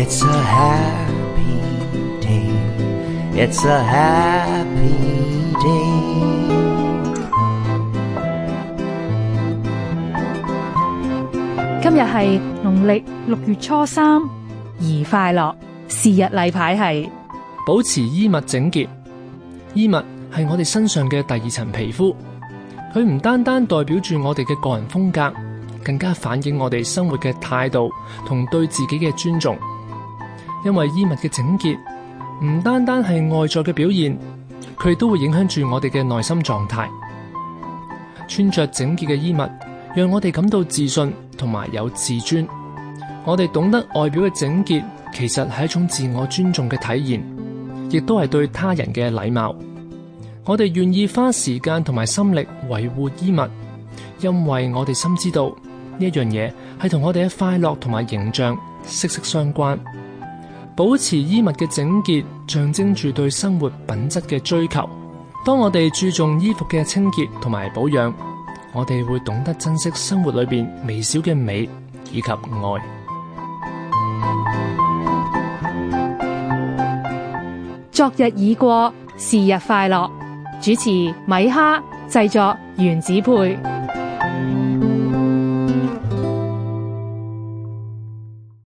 It's a happy day. It's a happy day. 今日係農曆6月初3，宜快樂。是日例牌係保持衣物整潔。衣物係我哋身上嘅第二層皮膚，佢唔單單代表住我哋嘅個人風格，更加反映我哋生活嘅態度同對自己嘅尊重。因為衣物嘅整潔唔單單係外在嘅表現，佢都會影響住我哋嘅內心狀態。穿着整潔嘅衣物，讓我哋感到自信同埋有自尊。我哋懂得外表嘅整潔，其實係一種自我尊重嘅體現，亦都係對他人嘅禮貌。我哋願意花時間同埋心力維護衣物，因為我哋深知道呢一樣嘢係同我哋嘅快樂同埋形象息息相關。保持衣物嘅整潔，象徵住對生活品質嘅追求。當我哋注重衣服嘅清潔同埋保養，我哋會懂得珍惜生活裏邊微小嘅美以及愛。 昨日已過，是日快樂。主持米哈，製作原子配。